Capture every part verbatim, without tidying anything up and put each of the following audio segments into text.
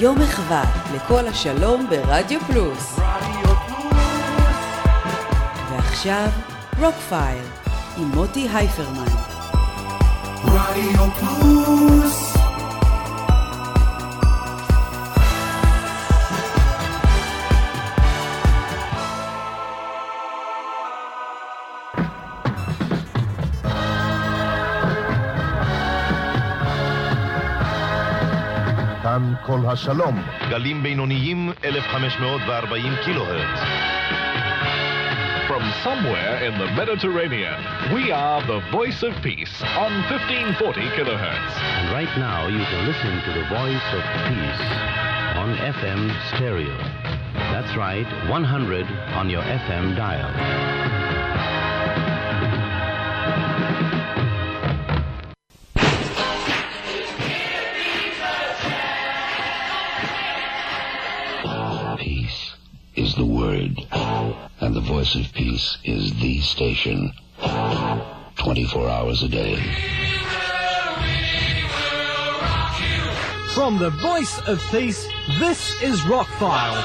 יום מחווה לכל השלום ברדיו פלוס. ועכשיו רוקפייל עם מוטי הייפרמן. רדיו פלוס. כאן כל השלום, גלים בינוניים אלף וחמש מאות וארבעים קילו הרץ. From somewhere in the Mediterranean, we are the Voice of Peace on fifteen forty kilohertz. And right now you can listen to the Voice of Peace on F M stereo. That's right, one hundred on your F M dial. Peace is the word, and the Voice of Peace is the station, twenty-four hours a day. From the Voice of Peace, this is Rockfile.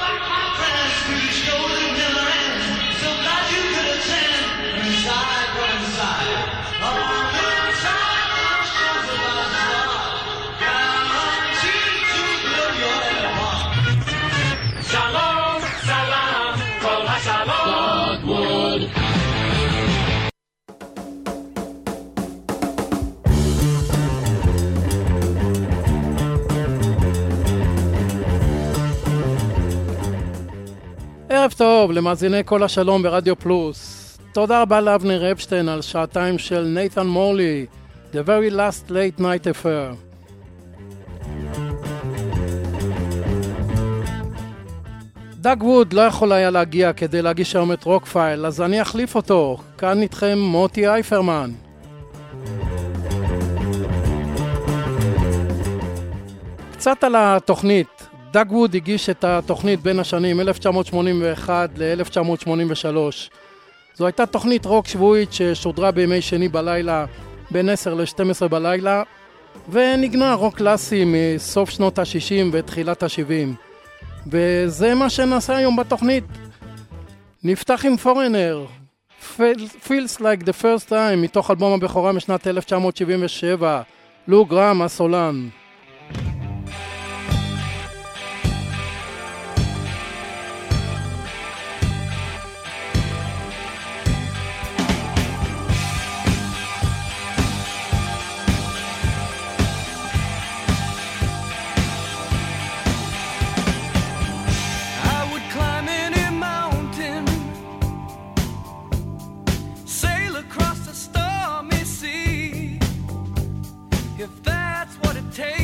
ערב טוב למאזיני כל השלום ברדיו פלוס. תודה רבה לאבנר אפשטיין על שעתיים של נייתן מורלי, The Very Last Late Night Affair. דאג ווד לא יכול היה להגיע כדי להגיש היום את רוקפייל, אז אני אחליף אותו. כאן איתכם מוטי הייפרמן. קצת על התוכנית. דאג ווד הגיש את התוכנית בין השנים אלף תשע מאות שמונים ואחת ל-אלף תשע מאות שמונים ושלוש. זו הייתה תוכנית רוק שבועית ששודרה בימי שני בלילה בין עשר ל-שתים עשרה בלילה, ונגנה רוק קלאסי מסוף שנות ה-שישים ותחילת ה-שבעים. וזה מה שנעשה היום בתוכנית. נפתח עם פורנר, Feels Like the First Time, מתוך אלבום הבכורה משנת אלף תשע מאות שבעים ושבע, לו גרם הסולן. If that's what it takes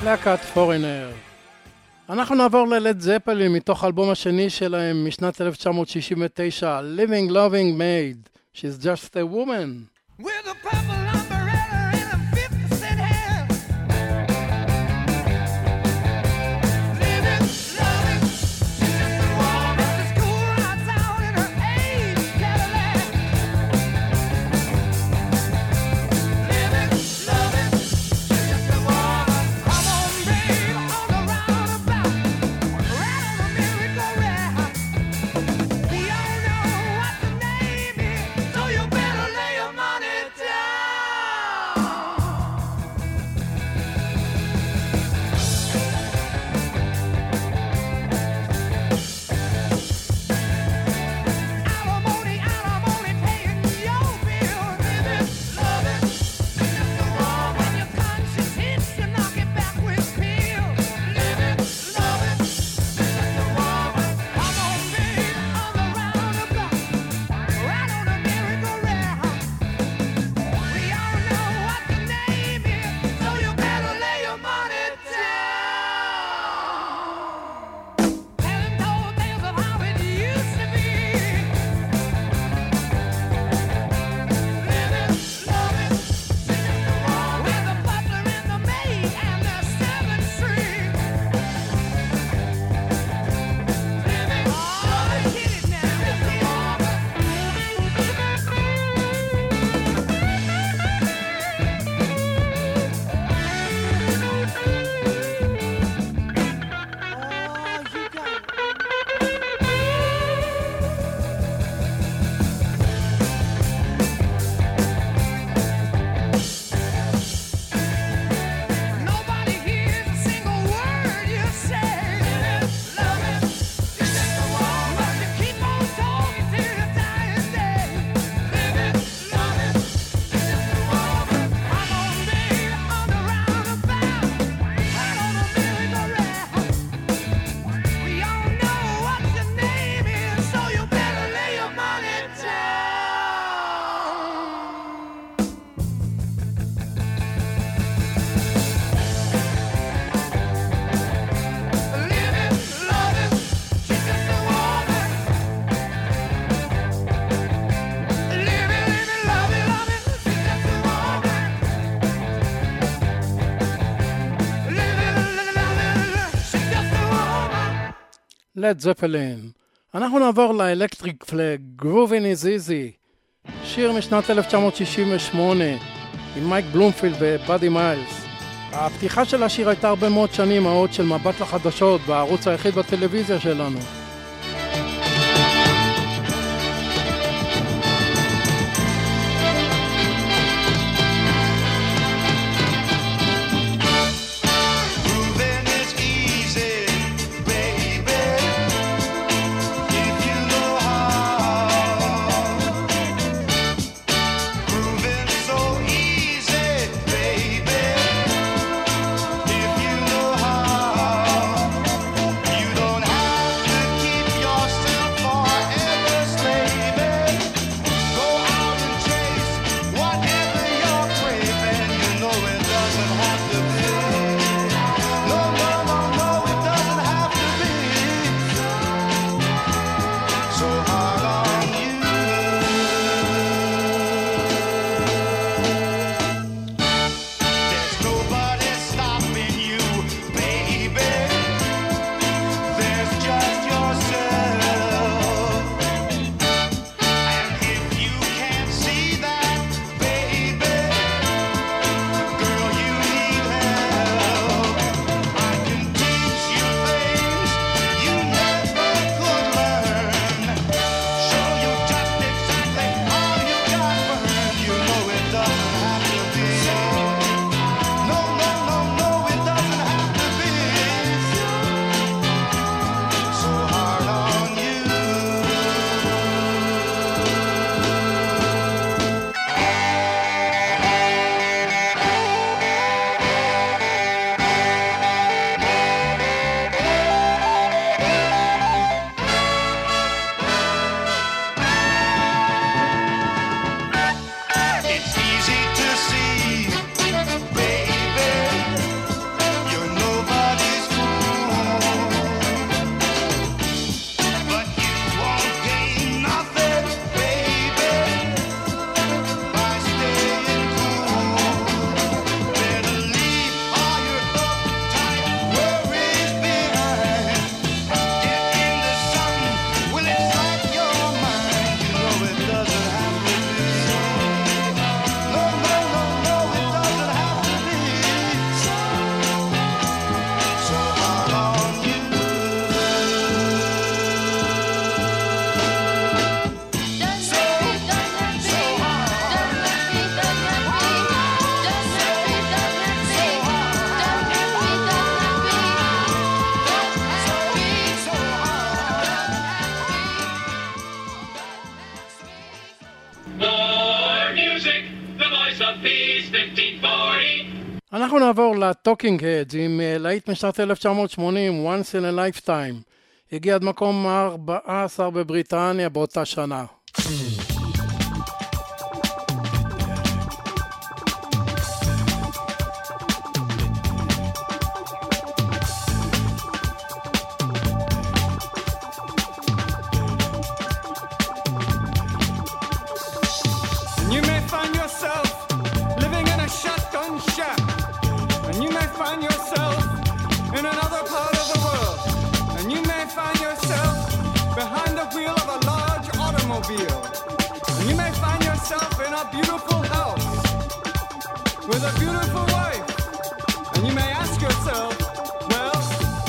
להקת פורינר. אנחנו נעבור ללד זפלין מתוך האלבום השני שלהם משנת אלף תשע מאות שישים ותשע, Living Loving Maid, She's Just a Woman. With a purple umbrella and a fifty cent hand. Living, loving, she's just a woman. She's cool rides out in her age Cadillac. Living, loving, she's just a woman. Come on, babe, on the roundabout, right on the merry-go-round. We all know what the name is, so you better lay your money down. Alimony, alimony, paying your bill. Living, loving, she's just a woman. When your conscience hits, you knock it back with pills. Living, loving, she's just a woman. Come on, babe, on the roundabout, right on the merry-go-round. We all know what the name is, so you better lay your money down. Telling old tales of how it used to be. Living, loving, she's just a woman. With the butler and the maid and the seventh street. Living, loving, get it now, just a woman. Nobody hears a single word you say. Living, loving, she's just a woman. You keep on talking till your dying day. Living, loving, she's just a woman. Come on, babe, on the roundabout, right on the merry-go-round. We all know what your name is, so you better lay your money down. Living, loving, she's just a woman. Living, living, loving, loving, she's just a woman. Living, living, loving, she's just a woman. לד זפלין. אנחנו נעבור לאלקטריק פלאג, Groovin' is Easy, שיר משנת אלף תשע מאות שישים ושמונה עם מייק בלומפילד ובאדי מיילס. הפתיחה של השיר הייתה הרבה מאוד שנים האות של מבט לחדשות בערוץ היחיד בטלוויזיה שלנו. Groovin' is easy, baby, if you know how. Groovin' so easy, baby, if you know how. You don't have to Voice of Peace, fifteen forty. אנחנו נעבור לטוקינג הדס עם אה, להיט משנת אלף תשע מאות שמונים, Once in a Lifetime. הגיע עד מקום ארבע עשרה בבריטניה באותה שנה. You may find yourself living in a shotgun shack, and you may find yourself in another part of the world, and you may find yourself behind the wheel of a large automobile, and you may find yourself in a beautiful house with a beautiful wife, and you may ask yourself, well,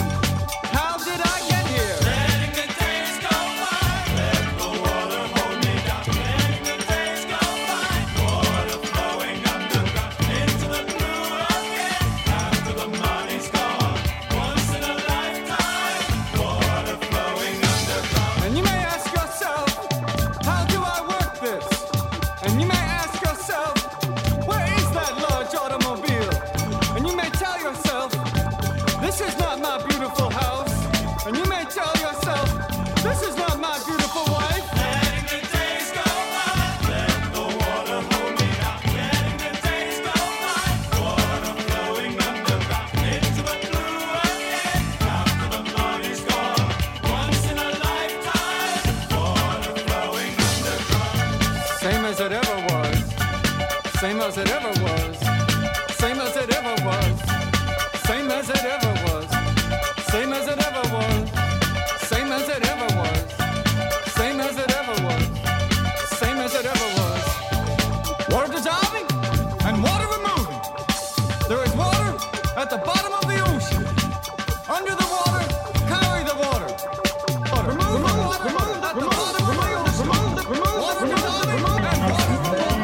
how did I get here? Letting the days go by, let the water hold me down. Letting the days go by, water flowing underground into the blue again. After the money's gone, once in a lifetime, water flowing underground. And you may ask yourself, how do I work this? And you may ask yourself, where is that large automobile? And you may tell yourself, this is not my beautiful house. And you may tell yourself, this is not my beautiful wife. Letting the days go by, let the water hold me down. Letting the days go by, water flowing underground into the blue again. After the money's gone, once in a lifetime, water flowing underground. Same as it ever was, same as it ever was, same as it ever was, same as it ever was, same as it ever was, same as it ever was, same as it ever was, same as it ever was. Water dissolving and water removing. There is water at the bottom of the ocean. Under the water, carry the water. Water. Remove the water at the bottom of the ocean. Water dissolving and water removing.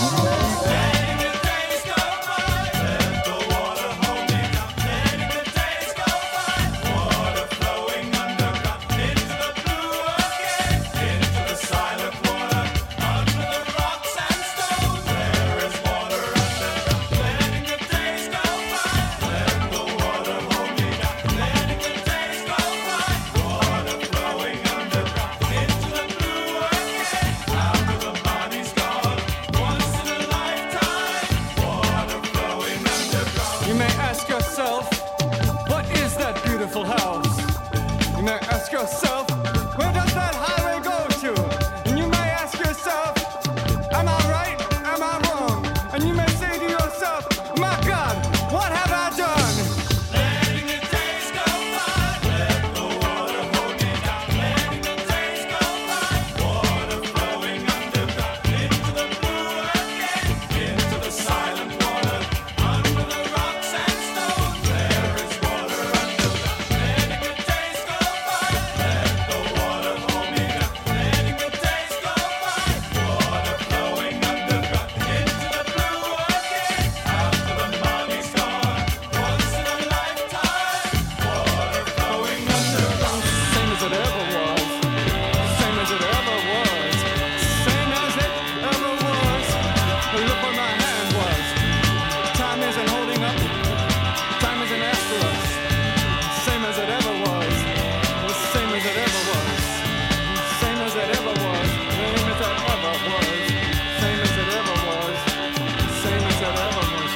Letting the days go by, let the water hold me down. Letting the days go by, water flowing underground into the blue again, into the silent water, under the rocks and stones. There is water underground. Letting the days go by, let the water hold me down. Letting the days go by, water flowing underground into the blue again. After the body's gone, once in a lifetime, water flowing underground. You may ask yourself, what is that beautiful house? You may ask yourself, where does that highway go to? And you may ask yourself, am I right? Am I wrong? And you may say to yourself, my God, what have I done? Letting the days go by, let the water hold me down. Letting the days go by, water flowing underground into the blue again, into the silent water, under the rocks and stones. There is water underground. Letting the days go by, let the water hold me down. Letting the days go by, water flowing underground into the blue again. After the money's gone, once in a lifetime, water flowing underground. Same as it ever was, same as it ever was, same as it ever was. Look where my hand was. Time isn't holding up, time isn't after us. Same as it ever was, same as it ever was, same as it ever was, same as it ever was, same as it ever was, same as it ever was.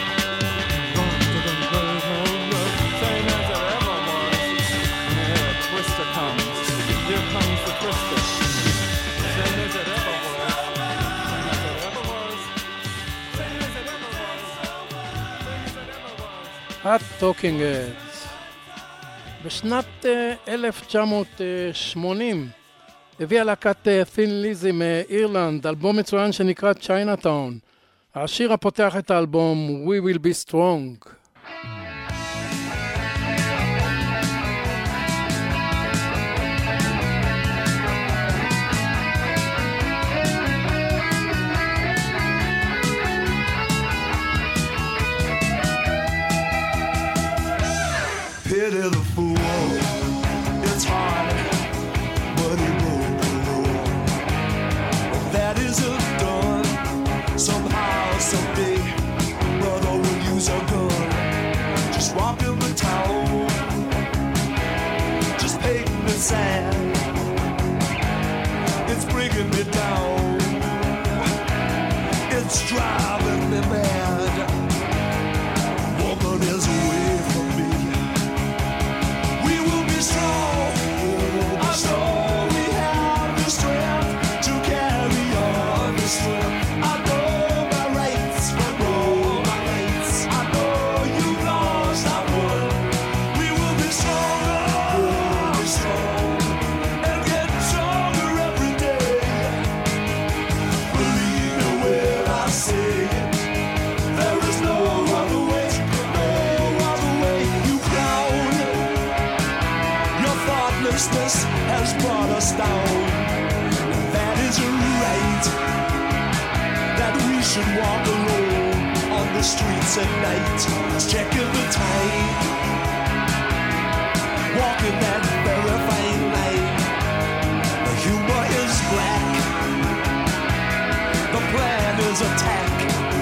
Same as it ever was. Here a twister comes, here comes the twister. Same as it ever was, same as it ever was, same as it ever was, same as it ever was. הטוקינג הדס. בשנת אה, אלף תשע מאות שמונים הביאה להקת תין ליזי מאירלנד אלבום מצוין שנקרא צ'יינאטאון. השיר הפותח את האלבום We Will Be Strong. Pity the fool, it's hard, but he broke the rule. That isn't done somehow, someday. sad. It's bringing me down. It's driving me mad. Woman is away from me. We will be strong. I know we have the strength to carry on the strength. I know my rights from all my rights. I know you've lost, I won. We will be stronger, we'll be strong, and get stronger every day. Believe me when I say it. There is no other way, no other way. You clown. Your thoughtlessness has brought us down. That is right. That we should walk alone on the streets at night, checking the time, walking that very fine line. The humor is black. The plan is attack.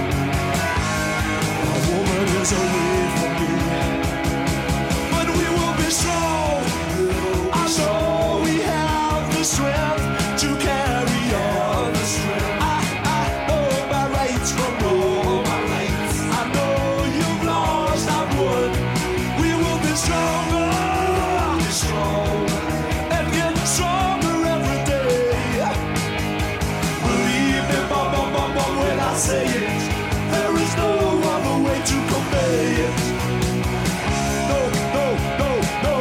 A woman is away from me, but we will be strong. I know we have the strength to carry on. I, I know my rights from all my rights. I know you've lost, I've won. We will be stronger, be strong, and get stronger every day. Believe me, bum, bum, bum, bum, when I say it. There is no other way to convey it. No, no, no, no.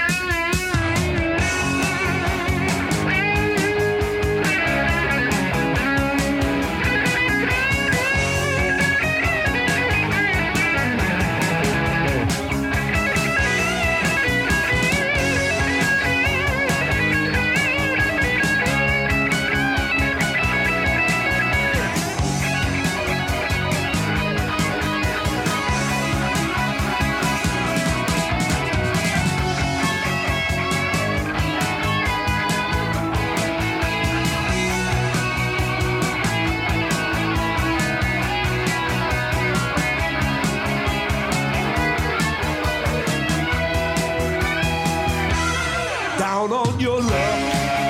Down on your luck,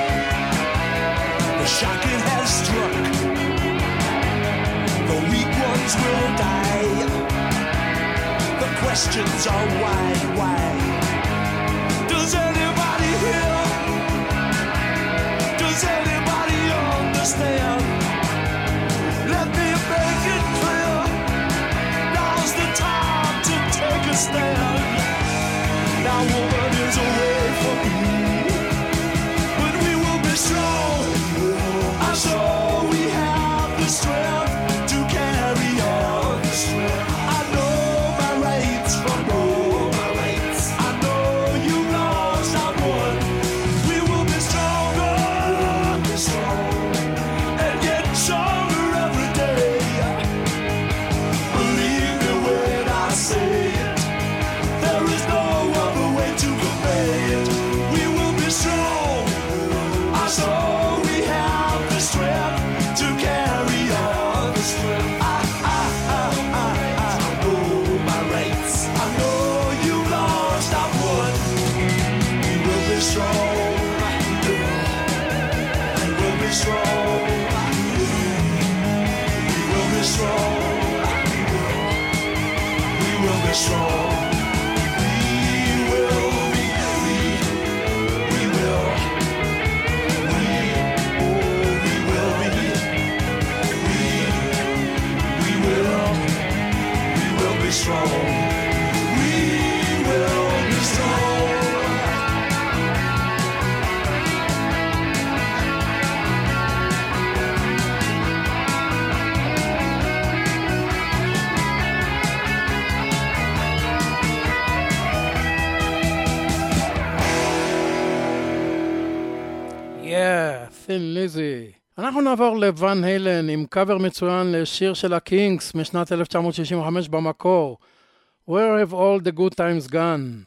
the shock it has struck. The weak ones will die. The questions are why, why? Does anybody hear? Does anybody understand? Let me make it clear. Now's the time to take a stand. Now woman is away from me, but we will be strong. I know we have the strength to carry on. I know my rights from all my rights. I know you lost, I won. We will be stronger, be strong, and get stronger every day. Believe me when I say it. There is no other way to convey it. We will be strong. I know we have the strength to carry on. I, I, I, I, I know my rights. I know you lost, I won. We will be strong. We will be strong. We will be strong. We will be strong. Strong. We will be strong. Yeah, Thin Lizzy. אנחנו נעבור לוואן הלן עם קאבר מצוין לשיר של הקינגס משנת אלף תשע מאות שישים וחמש במקור. Where have all the good times gone?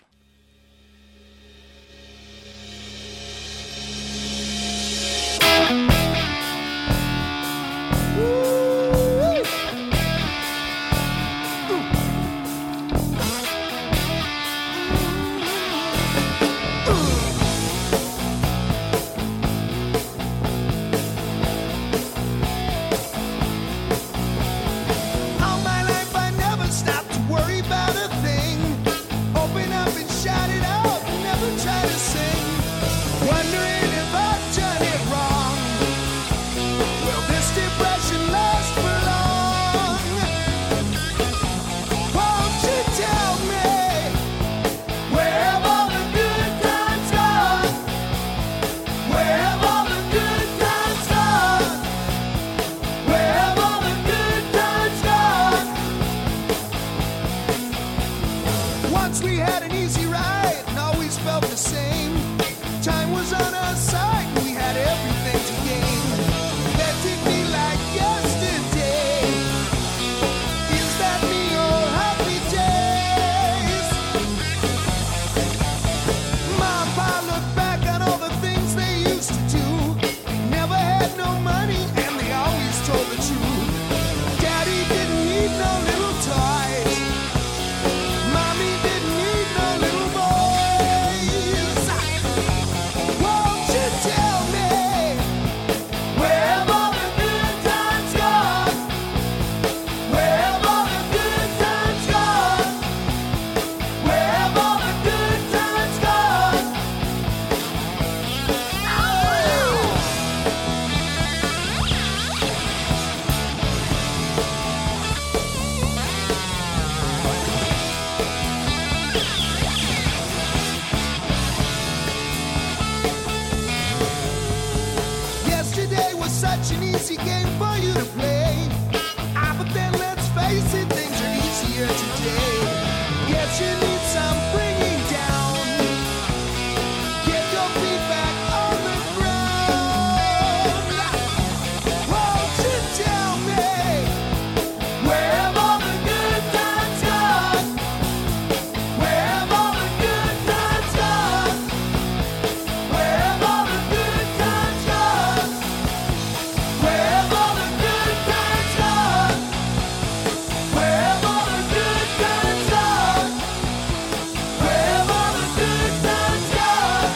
easy game for you to play. Ah, but then let's face it, things are easier today. Guess you need some bringing down. Get your feet back on the ground. Won't you tell me where have all the good times gone? Where have all the good times gone? Where have all the good times gone? Where have all the good times gone? Where have all the good times gone? Where have all the good times gone?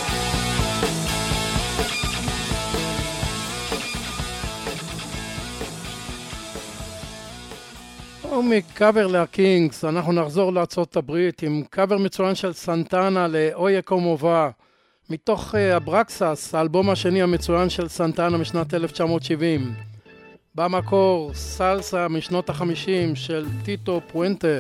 ומקאבר להקינגס, אנחנו נחזור לארצות הברית עם קאבר מצוין של סנטנה לאויה קומובה, מתוך uh, אברקסס, האלבום השני המצוין של סנטנה משנת אלף תשע מאות שבעים. במקור סלסה משנות החמישים של טיטו פואנטה.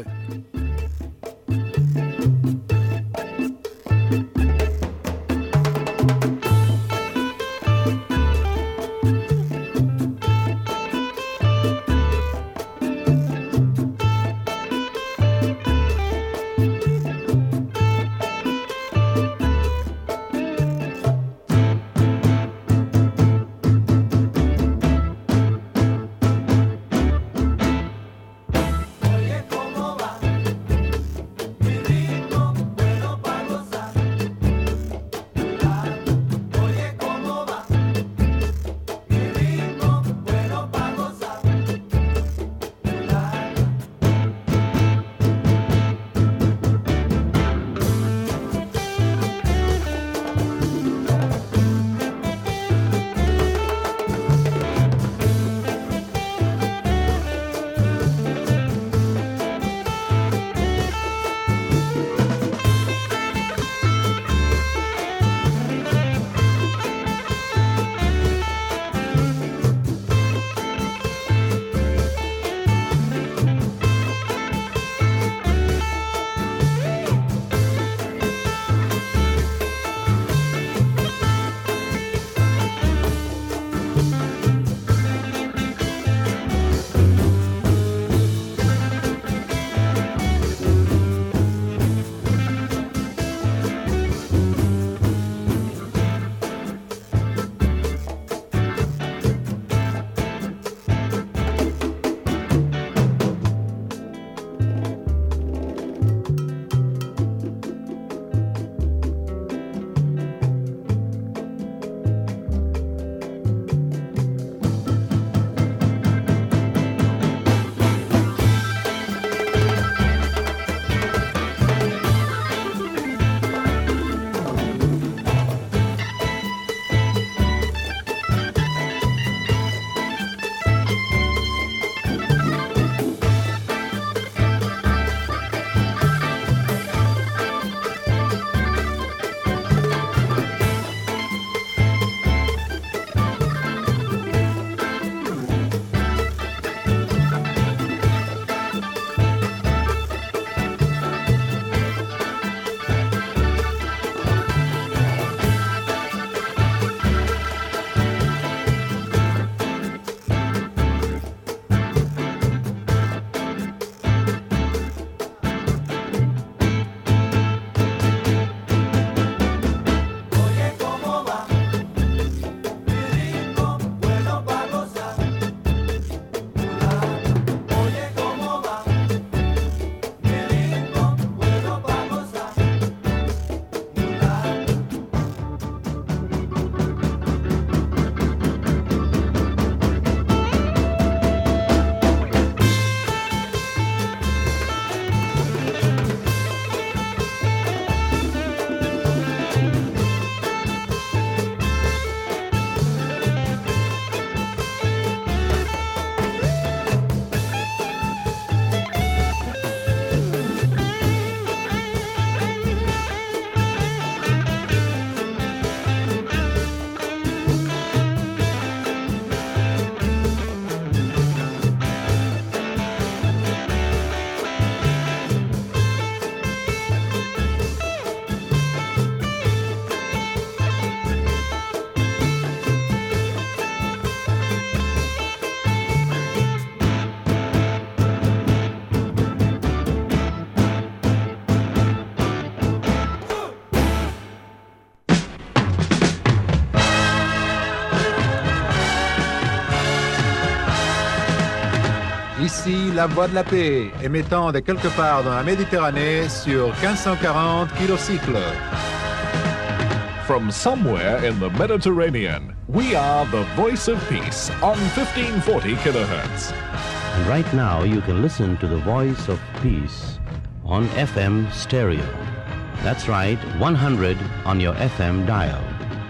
Oye, ¿cómo va? Ici, la voix de la paix, émettant de quelque part dans la Méditerranée sur quinze cent quarante kilocycles. From somewhere in the Mediterranean, we are the voice of peace on fifteen forty kilohertz. And right now you can listen to the voice of peace on F M stereo. That's right, one hundred on your F M dial.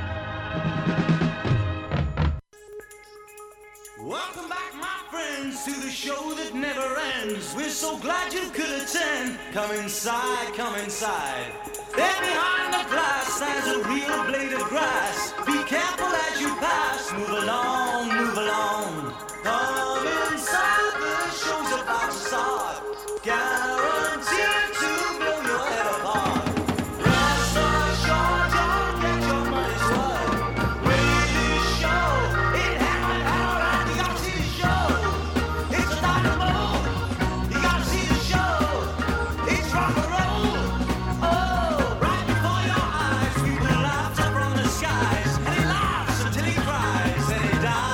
Welcome back, my friends, to the show that never ends. We're so glad you could attend. Come inside, come inside. There behind the glass stands a real blade of grass. Be careful as you pass. Move along, move along. Come inside, the show's about to start. Guaranteed to blow your head apart. Rest assured, you'll get your money's worth. With this show, it happened all right. You gotta see the show. It's a dynamo. You gotta see the show. It's rock and roll. Oh, right before your eyes, we will laughter from the skies. And he laughs until he cries. And he dies.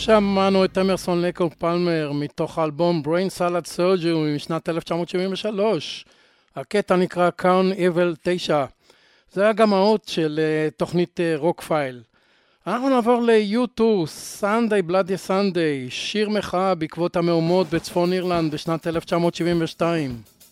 שמענו את אמרסון לקו פלמר מתוך האלבום Brain Salad Surgery משנת אלף תשע מאות שבעים ושלוש. הקטע נקרא Crown Evil תשע. זה היה גם האות של uh, תוכנית רוק uh, פייל. אנחנו נעבור ל-יו טו, Sunday Bloody Sunday, שיר מחאה בעקבות המהומות בצפון אירלנד בשנת אלף תשע מאות שבעים ושתיים.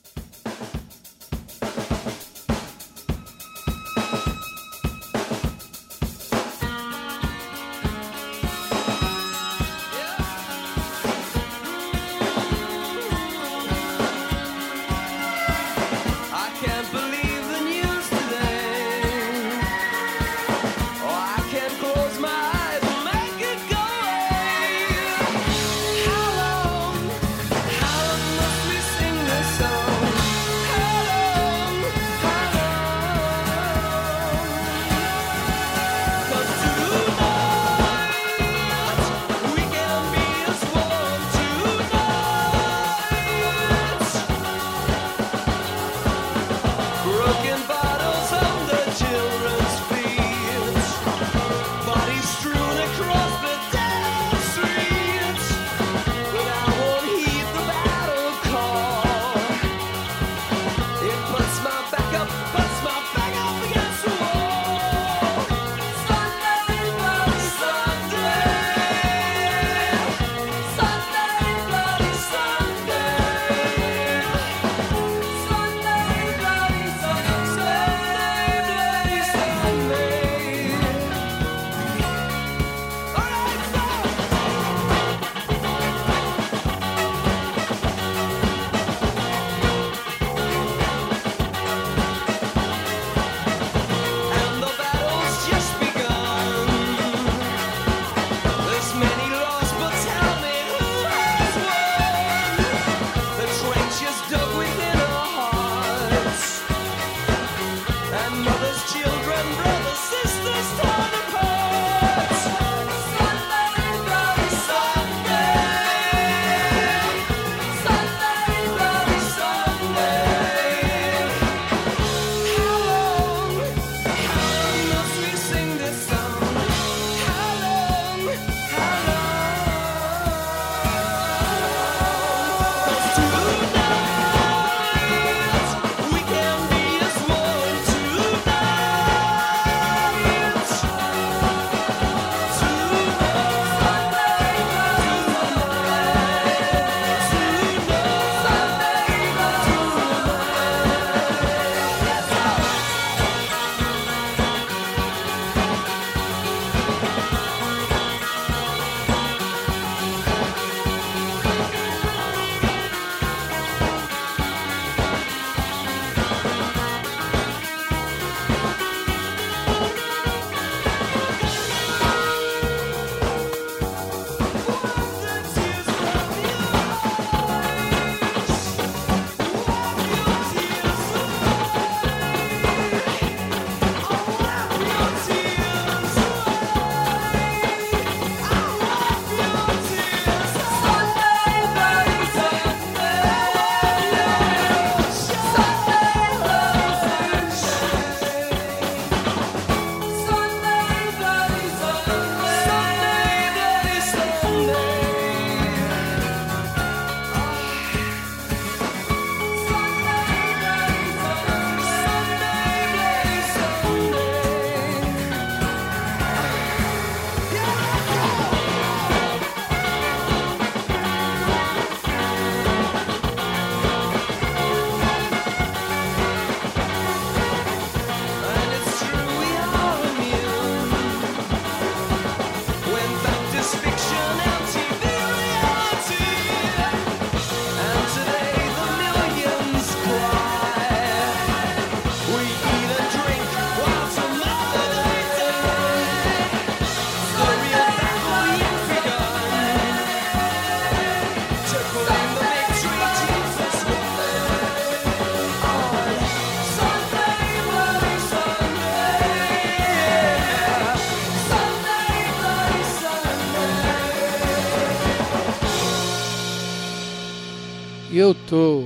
יו טו.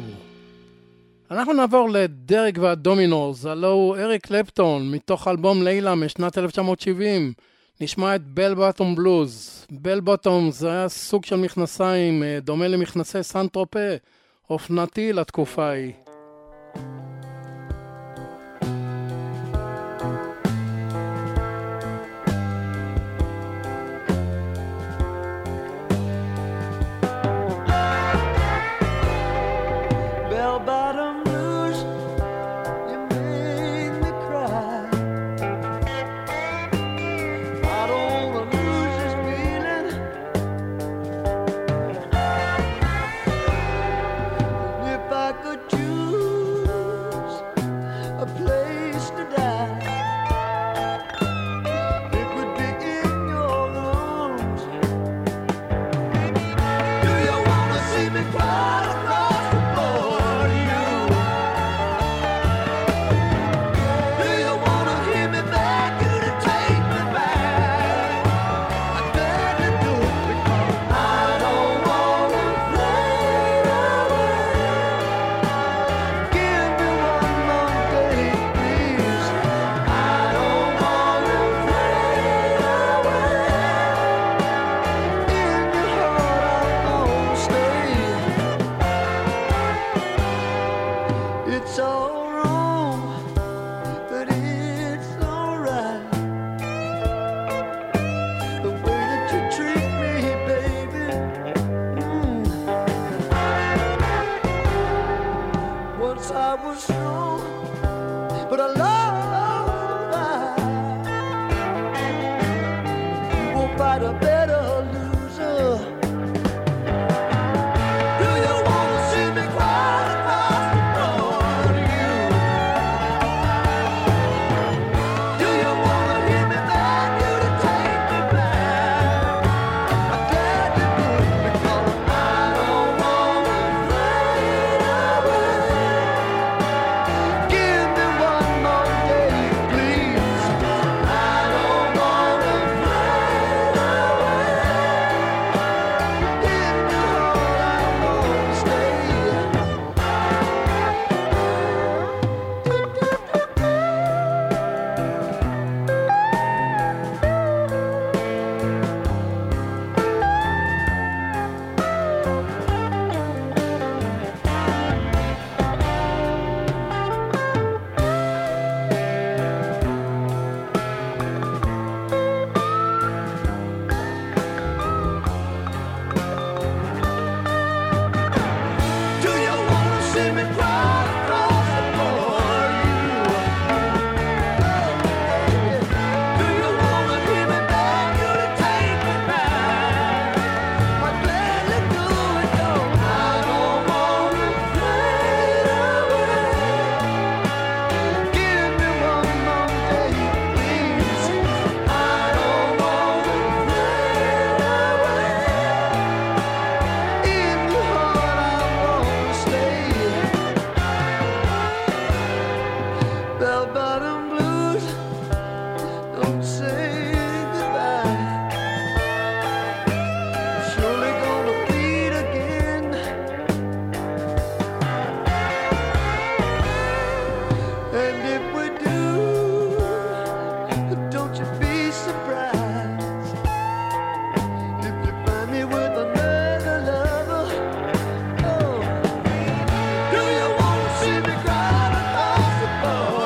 אנחנו נעבור לדרג והדומינורס, הלו הוא אריק קלפטון, מתוך אלבום לילה משנת אלף תשע מאות שבעים. נשמע את בל בוטום בלוז. בל בוטום זה היה סוג של מכנסיים, אה, דומה למכנסי סן טרופה, אופנתי לתקופה ההיא. Bell-bottom blues, you made me cry. I don't wanna lose this feeling. If I could choose a place to die, it would be in your arms. Do you wanna see me cry across the floor? It's all wrong, but it's all right. The way that you treat me, baby. Mm. Once I was strong, but I love I. You won't fight a better loser. Do you wanna see me cry across the floor? Bell-bottom blues, don't say goodbye. Surely gonna bleed again. And if we do, don't you be surprised if you find me with another lover. Oh, do you wanna see me cry across the floor?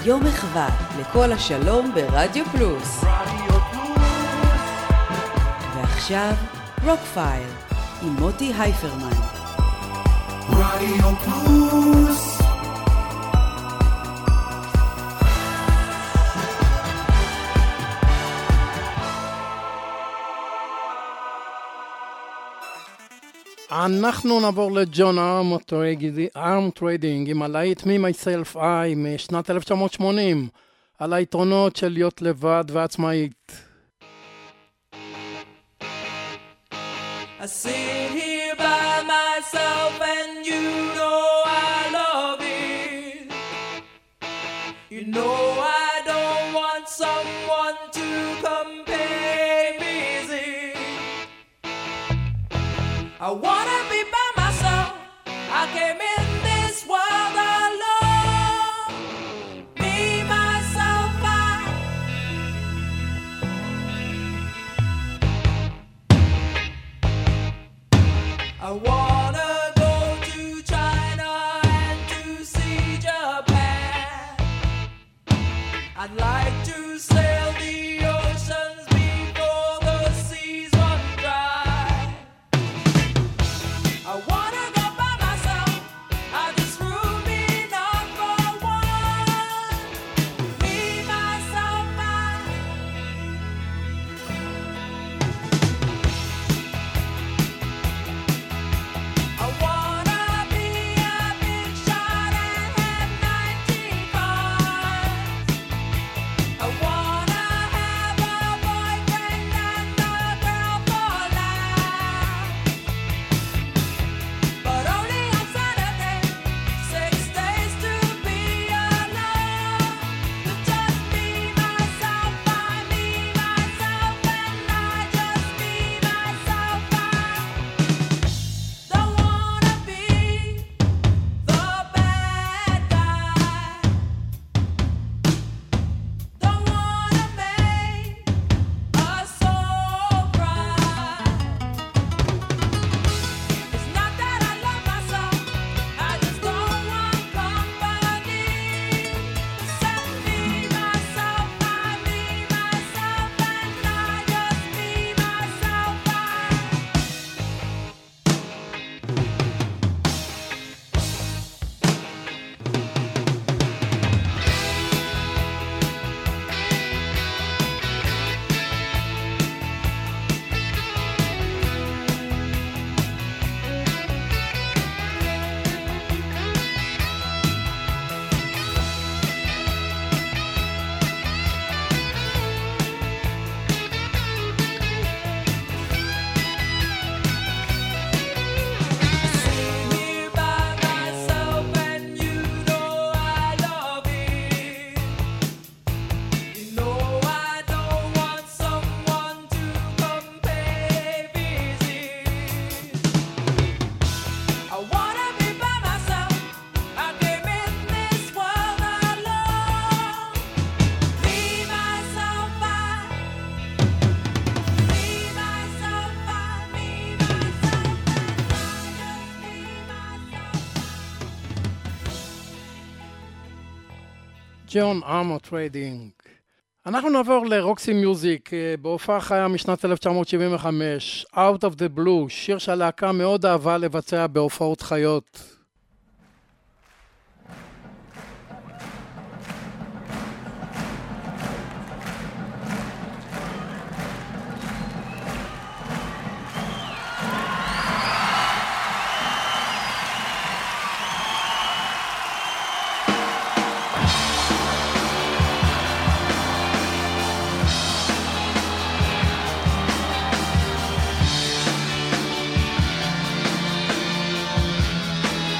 יום מחווה לכל השלום ברדיו פלוס. ועכשיו רוק פייל עם מוטי הייפרמן. רדיו פלוס. אנחנו נעבור לג'ון ארמטריידינג עם הלהיט Me Myself I משנת אלף תשע מאות שמונים, על היתרונות של להיות לבד ועצמאית. I sit here by myself and you know I love it. You know I don't want someone to come pay visit. I wanna be by myself. I came in this world alone. Me, myself, I. I wanna go to China and to see Japan. I'd like to sail the oceans before the seas run dry. I wanna go by myself. I just room me number one. Me, myself, I. I wanna be a big shot and have nineteen bars. I wanna have a boyfriend and a girl for life. But only on Saturday, six days to be alone. With just me, myself, I, me, myself, and I. Just me, myself, I. Don't wanna be the bad guy. Don't wanna make us all cry. It's not that I love myself, I just don't want company. Except me, myself, I, me, myself, and I. Just me, myself, I. Sit here by myself and you know I love it. You know I don't want someone to come pay visit. I wanna be by myself. I came in this world alone. Me, myself, I. Me, myself, I. Me, myself, and I. Just me, myself. ג'ון ארמטריידינג. אנחנו נעבור לרוקסי מיוזיק אה, בהופעה חיה משנת אלף תשע מאות שבעים וחמש, Out of the Blue, שיר שהלהקה מאוד אהבה לבצע בהופעות חיות. I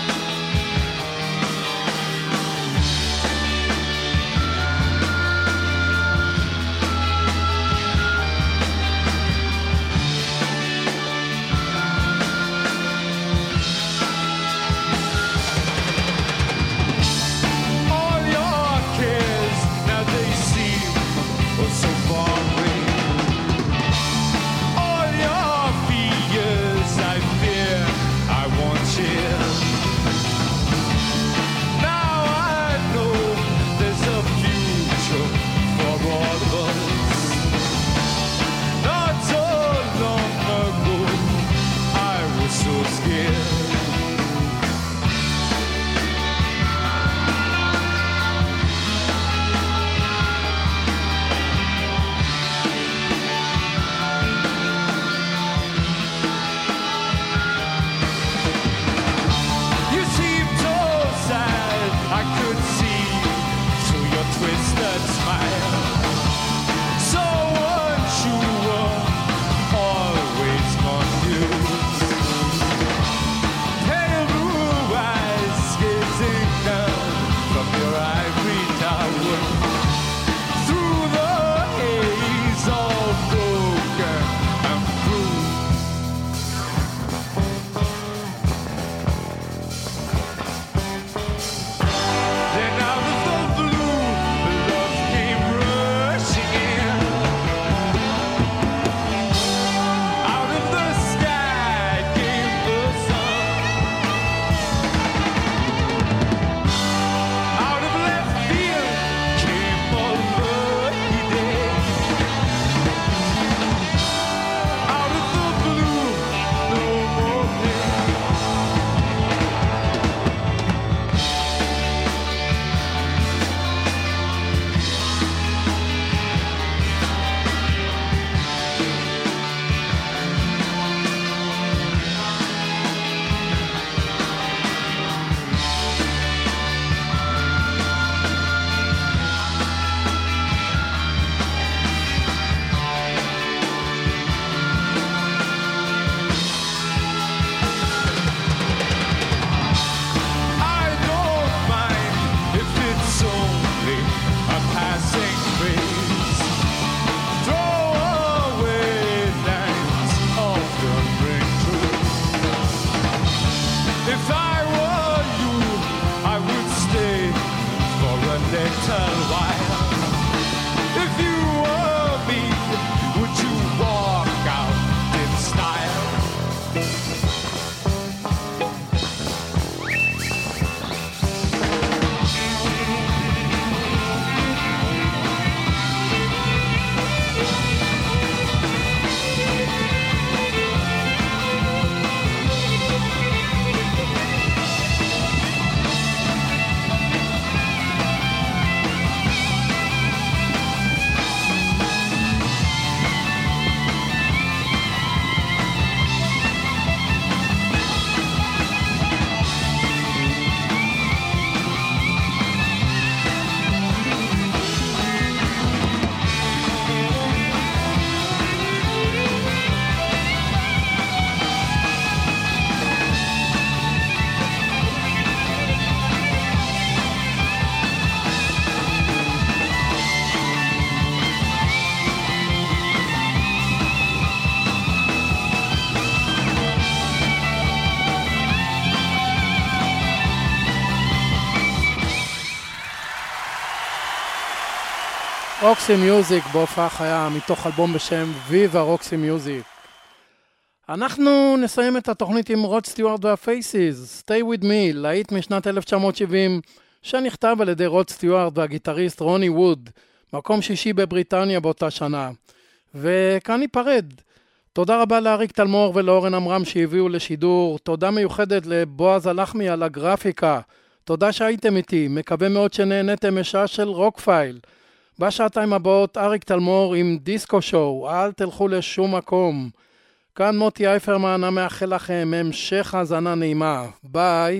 רוקסי מיוזיק בהופעה חיה מתוך אלבום בשם ויבה רוקסי מיוזיק. אנחנו נסיים את התוכנית עם רוד סטיוארט והפייסיס, Stay With Me, להיט משנת אלף תשע מאות שבעים, שנכתב על ידי רוד סטיוארט והגיטריסט רוני ווד, מקום שישי בבריטניה באותה שנה. וכאן ניפרד. תודה רבה לאריק תלמור ולאורן אמרם שהביאו לשידור, תודה מיוחדת לבועז הלחמי על הגרפיקה, תודה שהייתם איתי, מקווה מאוד שנהנתם משעה של רוקפייל. בשעתיים הבאות אריק תלמור עם דיסקו שואו, אל תלכו לשום מקום. כאן מוטי אייפרמן, המאחל לכם המשך האזנה נעימה. ביי.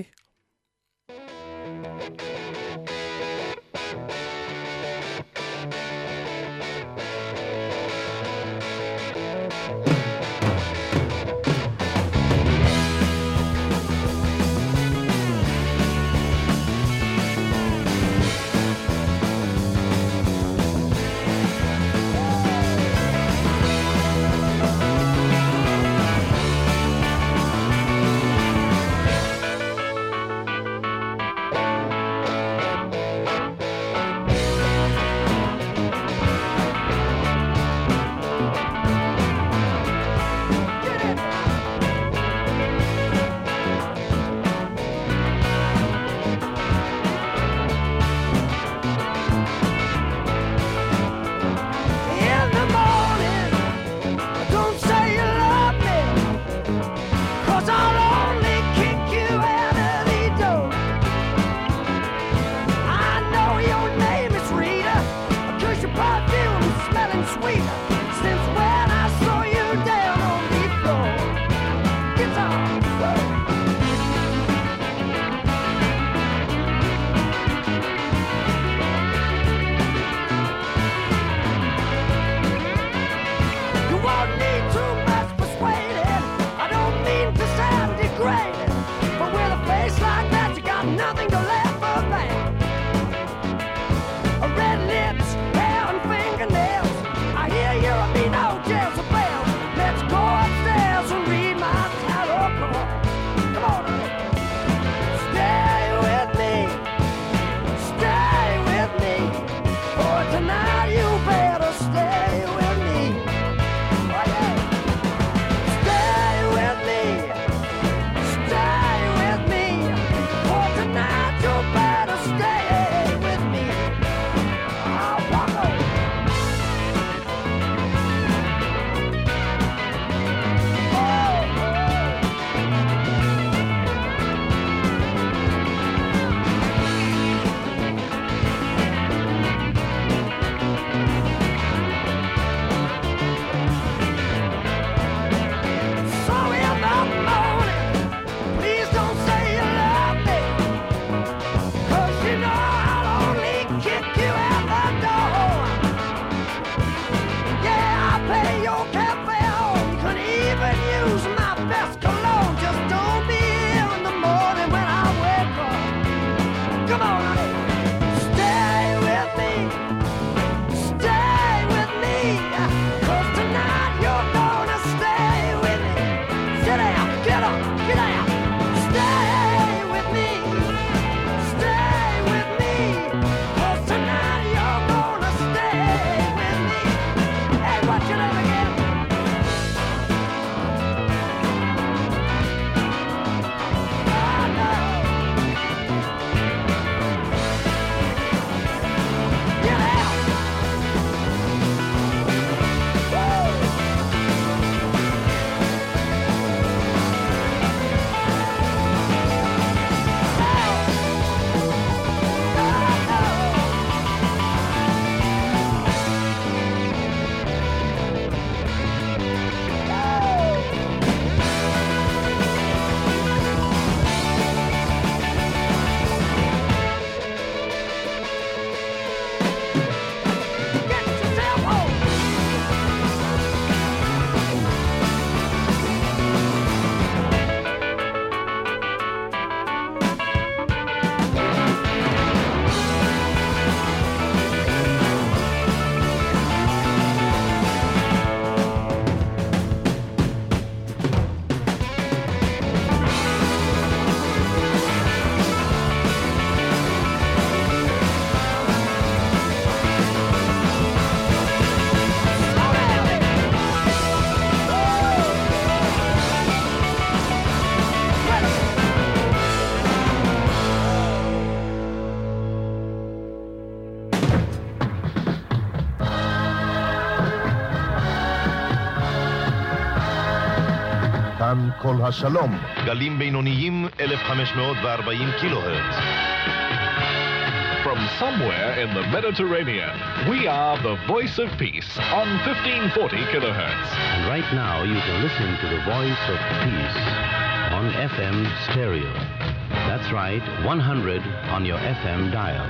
כאן כל השלום. גלים בינוניים אלף וחמש מאות וארבעים קילו הרץ. From somewhere in the Mediterranean, we are the Voice of Peace on fifteen forty kilohertz. And right now you can listen to the Voice of Peace on F M stereo. That's right, one hundred on your F M dial.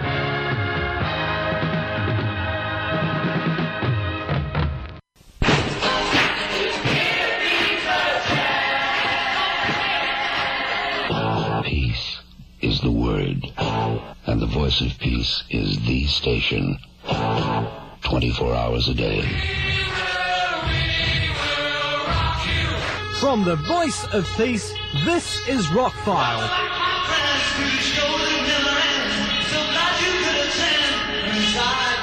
Peace is the word, and the Voice of Peace is the station, twenty-four hours a day. From the Voice of Peace, this is Rockfile. So glad you could attend.